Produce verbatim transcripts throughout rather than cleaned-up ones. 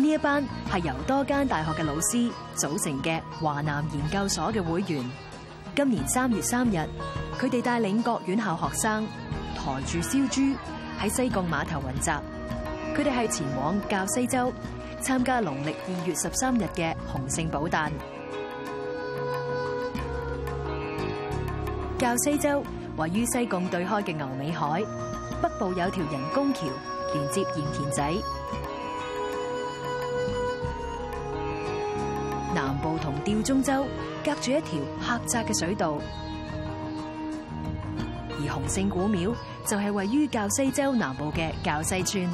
呢一班係由多間大學嘅老師組成嘅華南研究所嘅會員。今年三月三日，佢哋帶領各院校學生抬住燒豬喺西貢碼頭雲集。佢哋係前往滘西洲參加農曆二月十三日嘅洪聖寶誕。滘西洲位於西貢對開嘅牛尾海，北部有條人工橋連接鹽田仔，南部同吊鐘洲隔住一條狹窄嘅水道，而洪聖古廟就係位於滘西洲南部嘅滘西村。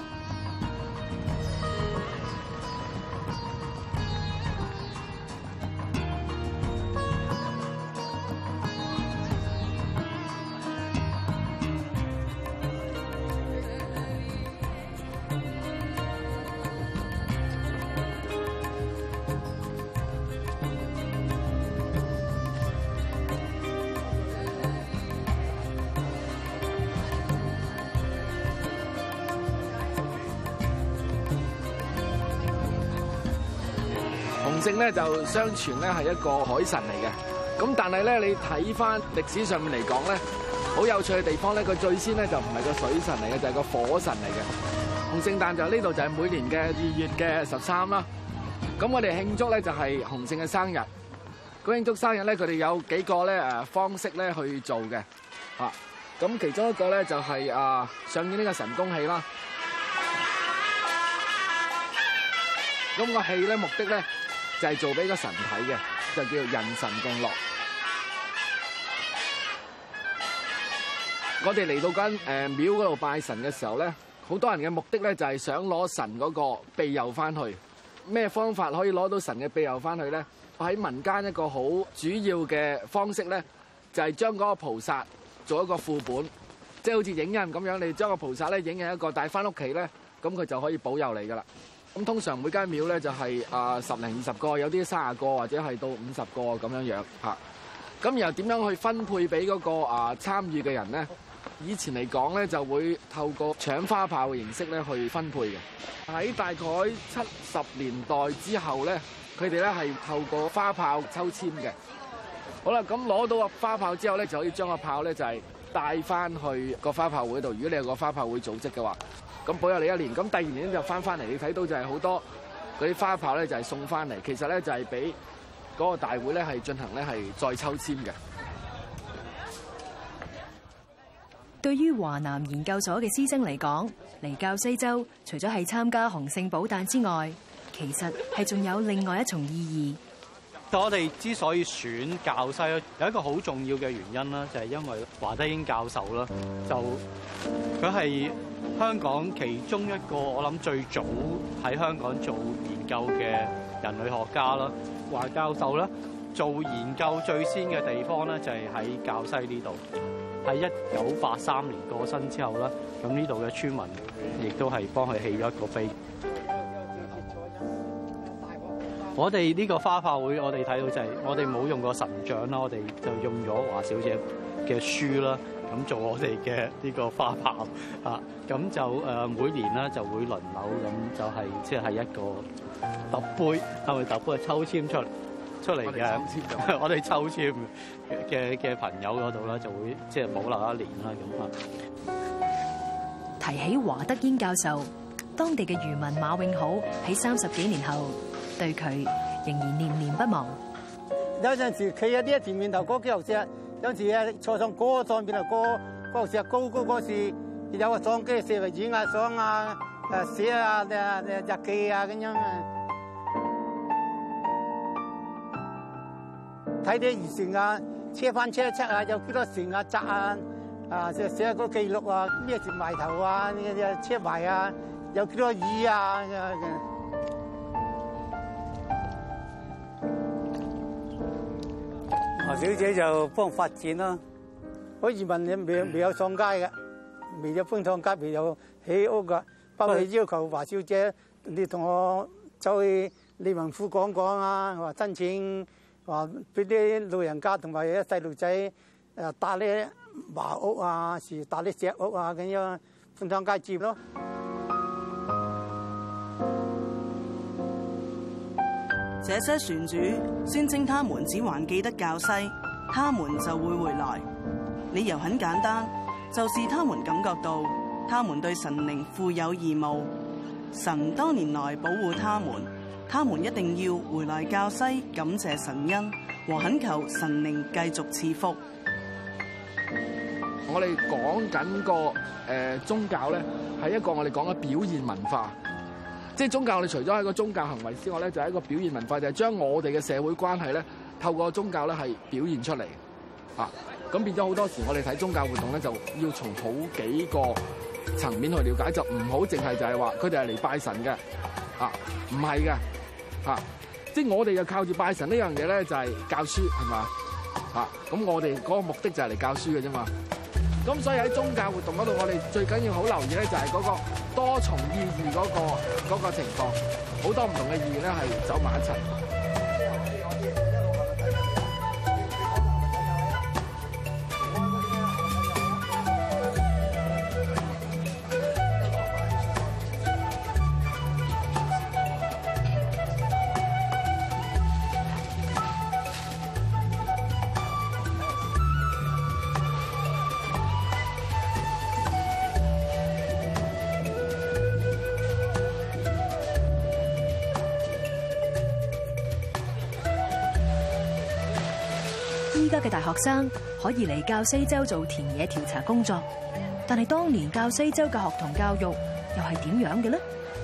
洪聖咧就相傳咧係一個海神嚟嘅，咁但係咧你睇翻歷史上面嚟講咧，好有趣嘅地方咧，佢最先咧就唔係個水神嚟嘅，就係個火神嚟嘅。洪聖誕就呢度就係每年嘅二月嘅十三啦。咁我哋慶祝咧就係洪聖嘅生日。咁慶祝生日咧，佢哋有幾個咧誒方式咧去做嘅嚇。咁其中一個咧就係啊上演呢個神功戲啦。咁個戲咧目的咧就係做俾個神睇嘅，就叫做人神共樂。我哋嚟到間誒廟嗰度拜神嘅時候咧，好多人嘅目的咧就係想攞神嗰個庇佑翻去。咩方法可以攞到神嘅庇佑翻去咧？喺民間一個好主要嘅方式咧，就係將嗰個菩薩做一個副本，即係好似影印咁樣。你將個菩薩咧影印一個帶翻屋企咧，咁佢就可以保佑你噶啦。咁通常每間廟咧就係啊十零二十個，有啲三十個或者係到五十個咁樣樣嚇。咁然後點樣去分配俾嗰個啊參與嘅人咧？以前嚟講咧就會透過搶花炮嘅形式咧去分配嘅。喺大概七十年代之後咧，佢哋咧係透過花炮抽籤嘅。好啦，咁攞到個花炮之後咧，就可以將個炮咧就係帶翻去個花炮會度。如果你有個花炮會組織嘅話，咁保佑你一年。咁第二年就翻翻嚟，你睇到就係好多嗰啲花炮咧就係送翻嚟。其實咧就係俾嗰個大會咧係進行咧係再抽籤嘅。 對於華南研究所嘅師生嚟講，嚟滘西洲除咗係參加洪聖寶誕之外，其實係仲有另外一重意義。 我哋之所以選滘西，有一個好重要嘅原因啦，就係因為華德英教授啦，就佢係香港其中一個我諗最早喺香港做研究嘅人類學家啦。華教授咧做研究最先嘅地方咧就係喺滘西呢度。喺一九八三年過身之後啦，咁呢度嘅村民亦都係幫佢起咗一個碑。我哋呢個花炮會，我哋睇到就係我哋冇用過神像啦，我哋就用咗華小姐嘅書啦，咁做我哋嘅呢個花炮啊。咁就誒每年咧就會輪流咁，就係即係一個揼杯，係咪揼杯係抽籤出嚟？出嚟嘅，我哋抽籤嘅嘅朋友嗰度咧，就會即係保留一年啦咁啊。 提起華德英教授，當地嘅漁民馬永好喺三十幾年後對佢仍然念念不忘。 有陣時企喺呢一田面頭嗰幾嚿石，有陣時啊坐上嗰個上邊啊嗰嗰嚿石高高嗰時，有個相機寫嚟影下相啊，誒寫啊誒日記啊咁樣啊。睇啲漁船啊，車翻車出啊，有幾多船啊窄啊，啊寫寫個記錄啊，咩時埋頭啊，車埋啊，有幾多魚啊。華小姐就幫發展啦，嗰漁民你未未有上街嘅，未有搬上街，未有起屋噶，不過要求華小姐，你同我走去理民府講講啊，話申請。話俾啲老人家同埋啲細路仔誒搭啲茅屋啊，是搭啲石屋啊咁樣搬上街接咯。 這些船主宣稱他們只還記得滘西，他們就會回來。理由很簡單，就是他們感覺到他們對神靈負有義務，神多年來保護他們，他們一定要回來滘西感謝神恩和懇求神靈繼續賜福。 我哋講緊個誒、呃、宗教咧，係一個我哋講嘅表現文化。即係宗教，我哋除咗係個宗教行為之外咧，就係、是、一個表現文化，就係、是、將我哋嘅社會關係咧，透過宗教咧係表現出嚟。啊，咁變咗好多時，我哋睇宗教活動咧，就要從好幾個層面去了解，就唔好淨係就係話佢哋係嚟拜神嘅。啊，唔係嘅。啊，即係我哋就靠住拜神呢樣嘢咧，就係、是、教書係嘛？啊，咁我哋嗰個目的就係嚟教書嘅啫嘛。咁所以喺宗教活動嗰度，我哋最緊要好留意咧，就係嗰個多重意義嗰、嗰個嗰個情況，好多唔同嘅意義咧係走埋一齊。 依家嘅大學生可以嚟滘西州做田野調查工作，但係當年滘西州嘅學童教育又係點樣嘅呢？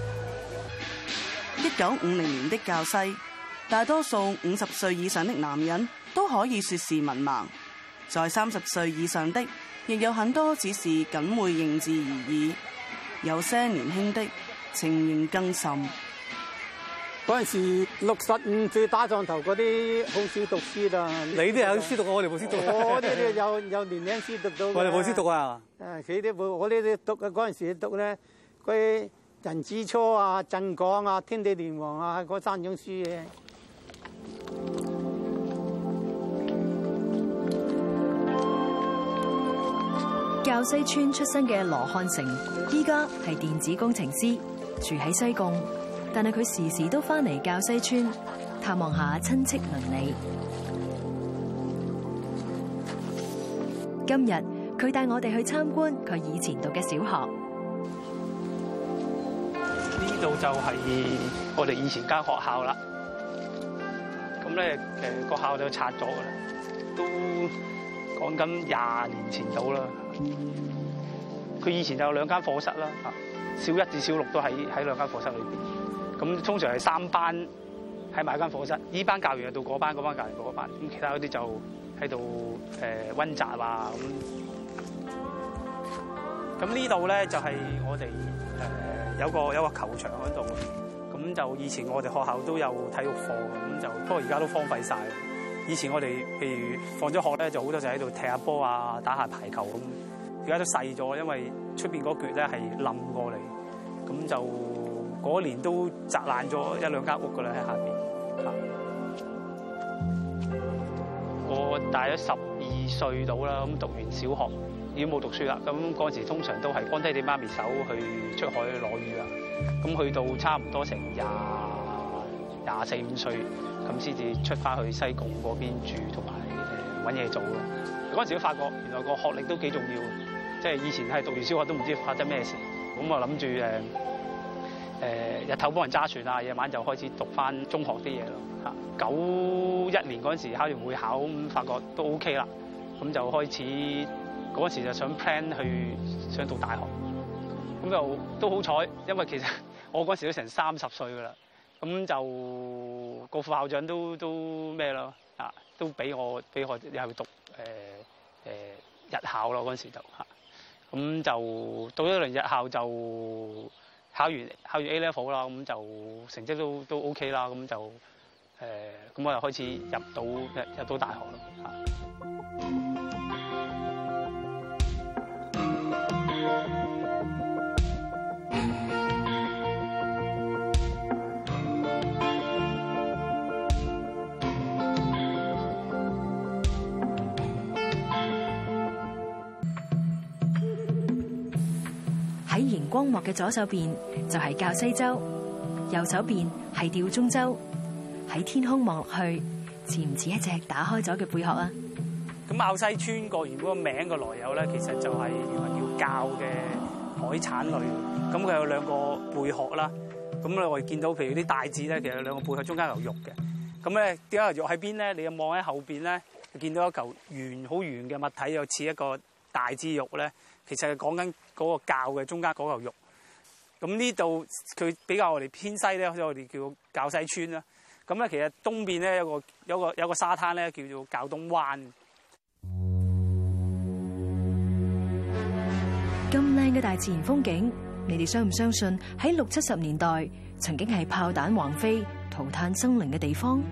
一九五零年的滘西，大多數五十歲以上的男人都可以說是文盲，在三十歲以上的亦有很多只是僅會認字而已，有些年輕的情形更甚。 嗰陣時六十五歲打上頭嗰啲好少讀書啦。 你啲有書讀啊？我哋冇書讀。 我哋有有年輕書讀到。 我哋冇書讀啊！ 誒，佢啲冇，我呢啲讀嘅嗰陣時讀咧，嗰啲人之初啊、鎮港啊、天地蓮王啊嗰三種書嘅。 滘西村出身嘅羅漢成，依家係電子工程師，住喺西貢。但係佢時時都翻嚟滘西村探望下親戚鄰里。今日佢帶我哋去參觀佢以前讀嘅小學。 呢度就係我哋以前間學校啦。咁咧誒個校就拆咗噶啦，都講緊廿年前到啦。佢以前就有兩間課室啦，小一至小六都喺喺兩間課室裏邊。咁通常係三班喺埋一間課室，呢班教完就到嗰班，嗰班教完到嗰班，咁其他嗰啲就喺度誒溫習啊咁。咁呢度咧就係我哋誒有個有個球場喺度，咁就以前我哋學校都有體育課，咁就不過而家都荒廢晒。以前我哋譬如放咗學咧，就好多就喺度踢下波啊，打下排球咁。而家都細咗，因為出邊嗰橛咧係冧過嚟，咁就。嗰年都砸爛咗一兩間屋噶啦，喺下邊。我大咗十二歲到啦，咁讀完小學已經冇讀書啦。咁嗰陣時通常都係幫爹哋媽咪手去出海攞魚啊。咁去到差唔多成廿廿四五歲，咁先至出翻去西貢嗰邊住，同埋誒揾嘢做咯。嗰陣時都發覺原來個學歷都幾重要，即係以前係讀完小學都唔知發生咩事。咁我諗住誒。誒日頭幫人揸船啊，夜晚就開始讀翻中學啲嘢咯嚇。九一年嗰陣時考完會考，咁發覺都 OK 啦，咁就開始嗰陣時就想 plan 去想讀大學，咁就都好彩，因為其實我嗰陣時都成三十歲噶啦，咁就個副校長都都咩咯啊，都俾我俾我又去讀誒誒、呃呃、日校咯，嗰陣時就嚇，咁就到咗一輪日校就。考完考完 A level 啦，咁就成績都都 OK 啦，咁就誒，咁、呃、我又開始入到入入到大學咯嚇。 喺熒光幕嘅左手邊就係滘西州，右手邊係吊鐘州。 喺天空望落去，似唔似一隻打開咗嘅貝殼啊？ 咁滘西村個原本個名嘅來由咧，其實就係原來叫鮫嘅海產類。咁佢有兩個貝殼啦。咁咧我哋見到譬如啲大字咧，其實兩個貝殼中間有肉嘅。咁咧點解有肉喺邊咧？你又望喺後邊咧，就見到一嚿圓好圓嘅物體，又似一個大枝肉咧。其實係講緊嗰個鮫嘅中間嗰嚿肉。咁呢度佢比較我哋偏西咧，所以我哋叫滘西村啦。咁咧其實東邊咧有個有個有個沙灘咧，叫做滘東灣。 咁靚嘅大自然風景，你哋相唔相信喺六七十年代曾經係炮彈橫飛、塗炭生靈嘅地方？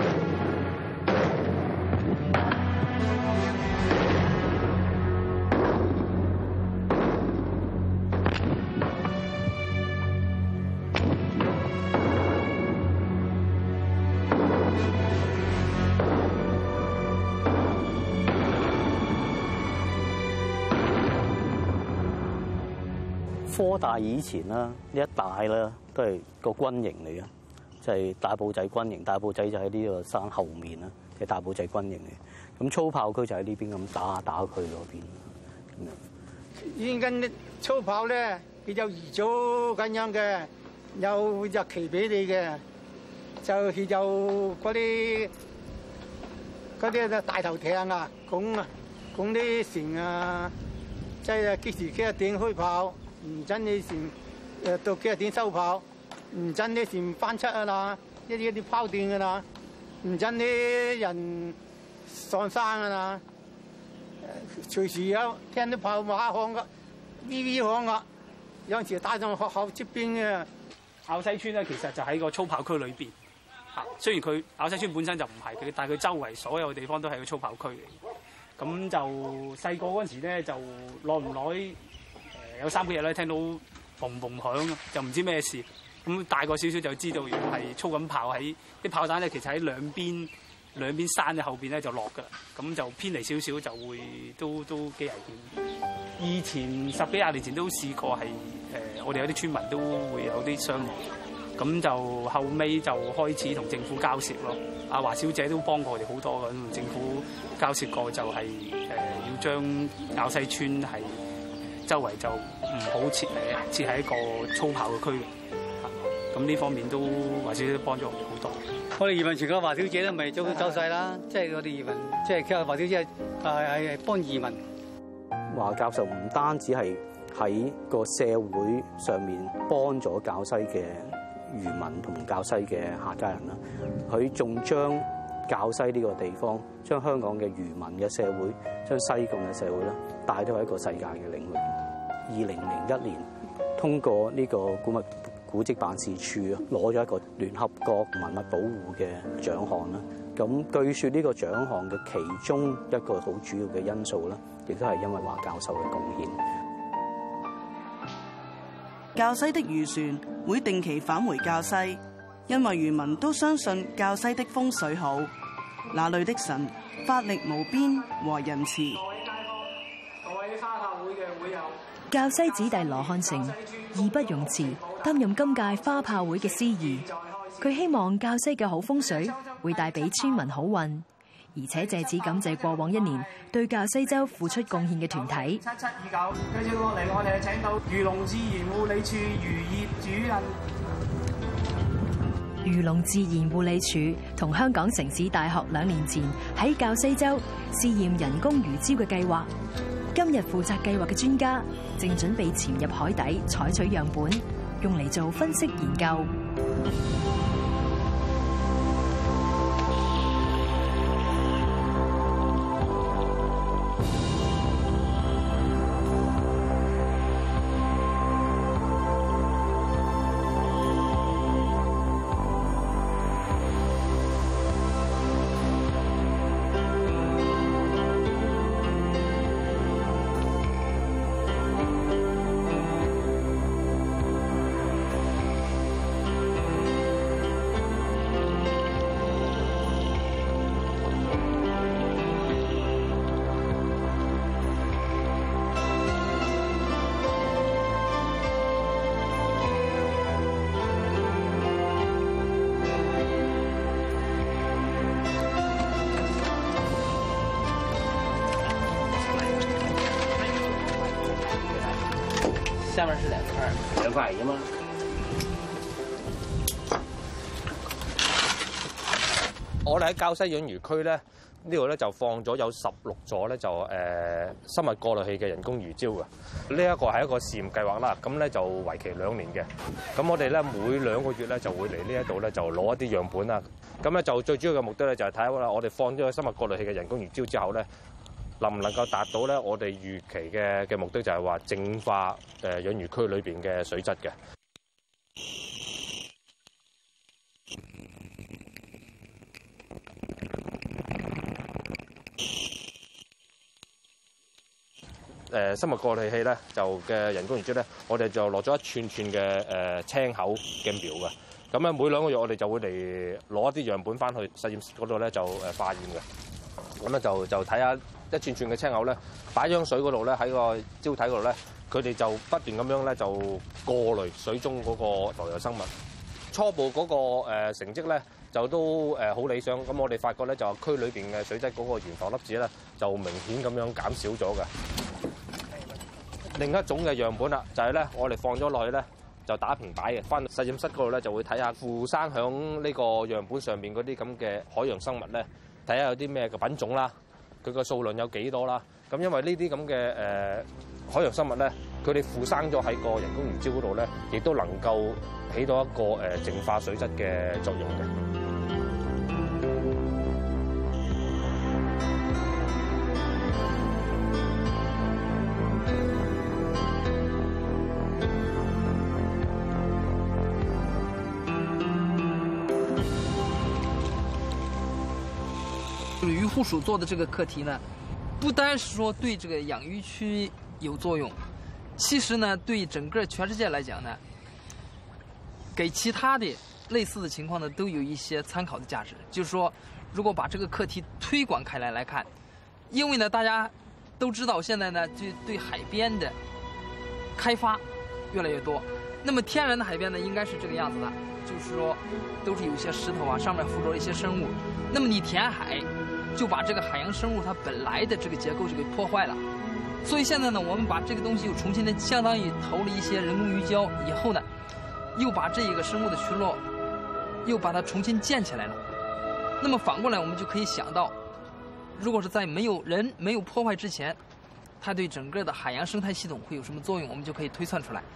科大以前啦，呢一帶啦都係個軍營嚟嘅，就係大埔仔軍營。大埔仔就喺呢個山後面啦，係大埔仔軍營嚟。咁粗炮區就喺呢邊咁打下打佢嗰邊咁樣。 依家啲粗炮咧，佢有預早咁樣嘅，有日期俾你嘅，就係有嗰啲嗰啲大頭艇啊，講啊講啲船啊，即係幾時幾多點開炮。唔真你船誒到幾多點收炮，唔真啲船翻出啊啦，一啲一啲拋斷噶啦，唔真啲人上山噶啦，隨時有聽到炮馬響噶，咿咿響噶，有陣時帶上學校出邊嘅。 滘西村咧，其實就喺個粗炮區裏邊嚇。雖然佢滘西村本身就唔係佢，但係佢周圍所有地方都係個粗炮區嚟。咁就細個嗰陣時咧，就耐唔耐？有三幾日咧，聽到嘣嘣響，就唔知咩事。咁大個少少就知道，原來係操緊炮喺啲炮彈咧，其實喺兩邊兩邊山嘅後邊咧就落㗎。咁就偏離少少就會都都幾危險。以前十幾廿年前都試過係誒、呃，我哋有啲村民都會有啲傷亡。咁就後尾就開始同政府交涉咯。阿華小姐都幫過我哋好多嘅，同政府交涉過就係、是、誒、呃、要將滘西村係。周圍就唔好設誒設喺一個粗炮嘅區域，咁呢方面都華小姐都幫咗我哋好多。 我哋移民全個華小姐都咪早走晒啦，即係我哋移民，即係其實華小姐係係幫移民。 華教授唔單止係喺個社會上面幫咗滘西嘅漁民同滘西嘅客家人啦，佢仲將滘西呢個地方，將香港嘅漁民嘅社會，將西貢嘅社會啦，帶到一個世界嘅領域。二零零一年，通過呢個古物古蹟辦事處攞咗一個聯合國文物保護嘅獎項啦。咁據說呢個獎項嘅其中一個好主要嘅因素咧，亦都係因為華教授嘅貢獻。 滘西的漁船會定期返回滘西，因為漁民都相信滘西的風水好，那裏的神法力無邊和仁慈。 滘西子弟羅漢成義不容辭，擔任今屆花炮會嘅司儀。佢希望滘西嘅好風水會帶俾村民好運，而且借此感謝過往一年對滘西洲付出貢獻嘅團體。 七七二九，跟住落嚟，我哋請到漁農自然護理處漁業主任。 漁農自然護理署同香港城市大學兩年前喺滘西洲試驗人工魚礁嘅計劃。今日負責計劃嘅專家正準備潛入海底採取樣本，用嚟做分析研究。 法嚟㗎嘛。 我哋喺滘西養魚區咧，呢度咧就放咗有十六座咧就誒、呃、生物過濾器嘅人工魚礁嘅。呢一個係一個試驗計劃啦，咁咧就為期兩年嘅。咁我哋咧每兩個月咧就會嚟呢一度咧就攞一啲樣本啦。咁咧就最主要嘅目的咧就係睇下我哋放咗個生物過濾器嘅人工魚礁之後咧，能唔能夠達到咧我哋預期嘅嘅目的，就係話淨化誒養魚區裏邊嘅水質嘅。誒生物過濾器咧就嘅人工魚礁咧，我哋就落咗一串串嘅誒青口嘅苗嘅。咁咧每兩個月我哋就會嚟攞一啲樣本翻去實驗室嗰度咧就誒化驗嘅。咁咧就就睇下一串串嘅青口咧擺喺水嗰度咧喺個礁體嗰度咧，佢哋就不斷咁樣咧就過濾水中嗰個浮游生物。初步嗰個誒成績咧就都誒好理想。咁我哋發覺咧就區裏邊嘅水質嗰個懸浮粒子咧就明顯咁樣減少咗嘅。另一種嘅樣本啦，就係咧，我哋放咗落去咧，就打平擺嘅。翻實驗室嗰度咧，就會睇下附生響呢個樣本上面嗰啲咁嘅海洋生物咧，睇下有啲咩嘅品種啦，佢個數量有幾多啦。咁因為呢啲咁嘅誒海洋生物咧，佢哋附生咗喺個人工魚礁嗰度咧，亦都能夠起到一個誒淨化水質嘅作用嘅。 渔护署做的这个课题呢，不单是说对这个养鱼区有作用，其实呢，对整个全世界来讲呢，给其他的类似的情况呢，都有一些参考的价值。就是说，如果把这个课题推广开来来看，因为呢，大家都知道现在呢，就对海边的开发越来越多。那么天然的海边呢，应该是这个样子的，就是说，都是有一些石头啊，上面附着了一些生物。那么你填海，就把这个海洋生物它本来的这个结构就给破坏了。所以现在呢，我们把这个东西又重新的，相当于投了一些人工鱼礁以后呢，又把这一个生物的群落，又把它重新建起来了。那么反过来，我们就可以想到，如果是在没有人没有破坏之前，它对整个的海洋生态系统会有什么作用，我们就可以推算出来。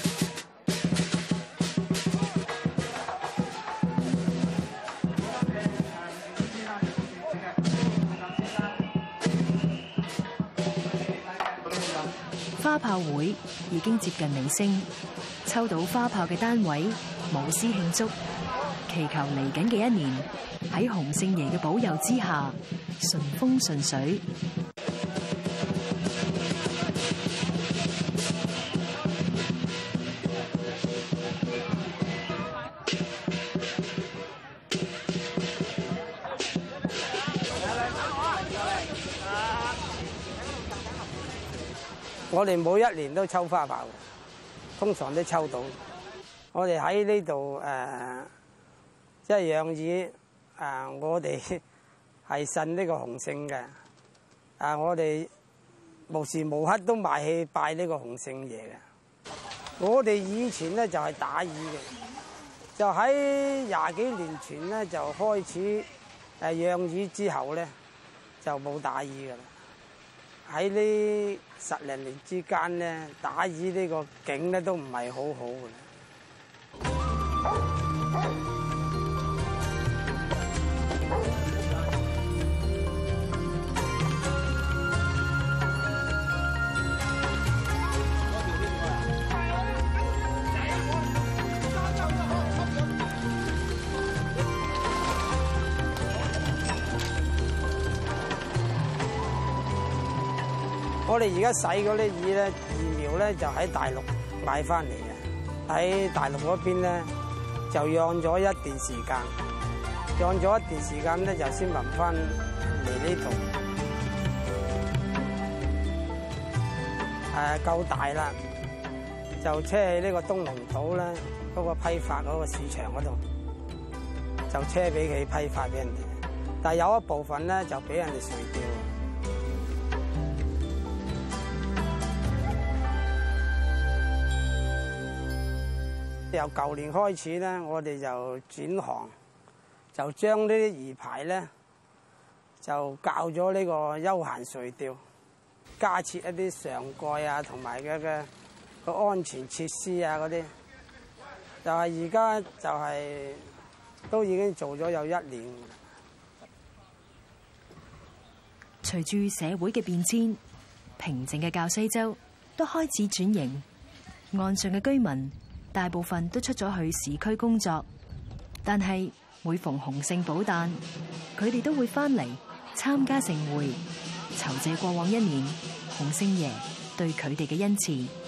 花炮會已經接近尾聲，抽到花炮嘅單位舞獅慶祝，祈求嚟緊嘅一年喺洪聖爺嘅保佑之下順風順水。 我哋每一年都抽花炮，通常都抽到。我哋喺呢度誒，即係養魚誒，我哋係信呢個洪聖嘅。啊，我哋無時無刻都賣去拜呢個洪聖爺嘅。我哋以前咧就係打魚嘅，就喺廿幾年前咧就開始誒養魚之後咧就冇打魚㗎啦。喺呢十零年之間咧，打魚呢個景咧都唔係好好嘅。我哋而家洗嗰啲魚咧，魚苗咧就喺大陸買翻嚟嘅，喺大陸嗰邊咧就養咗一段時間，養咗一段時間咧就先運翻嚟呢度。誒夠大啦，就車去呢個東龍島咧嗰個批發嗰個市場嗰度，就車俾佢批發俾人哋。但係有一部分咧就俾人哋垂釣。 由舊年開始咧，我哋就轉行，就將呢啲魚排咧就教咗呢個休閒垂釣，加設一啲上蓋啊，同埋嘅嘅個安全設施啊嗰啲，就係而家就係都已經做咗有一年。 隨住社會嘅變遷，平靜嘅滘西洲都開始轉型，岸上嘅居民大部分都出咗去市區工作，但係每逢洪聖寶誕，佢哋都會翻嚟參加盛會，酬謝過往一年洪聖爺對佢哋嘅恩賜。